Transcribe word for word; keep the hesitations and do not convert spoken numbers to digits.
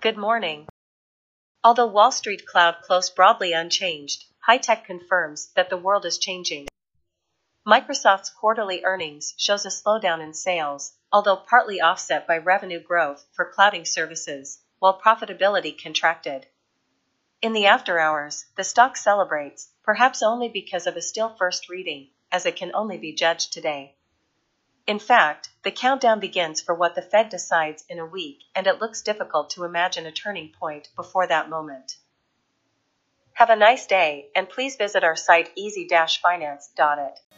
Good morning. Although Wall Street cloud closed broadly unchanged, high tech confirms that the world is changing. Microsoft's quarterly earnings shows a slowdown in sales, although partly offset by revenue growth for clouding services, while profitability contracted. In the after hours, the stock celebrates, perhaps only because of a still first reading, as it can only be judged today. In fact, the countdown begins for what the Fed decides in a week, and it looks difficult to imagine a turning point before that moment. Have a nice day, and please visit our site easy dash finance dot it.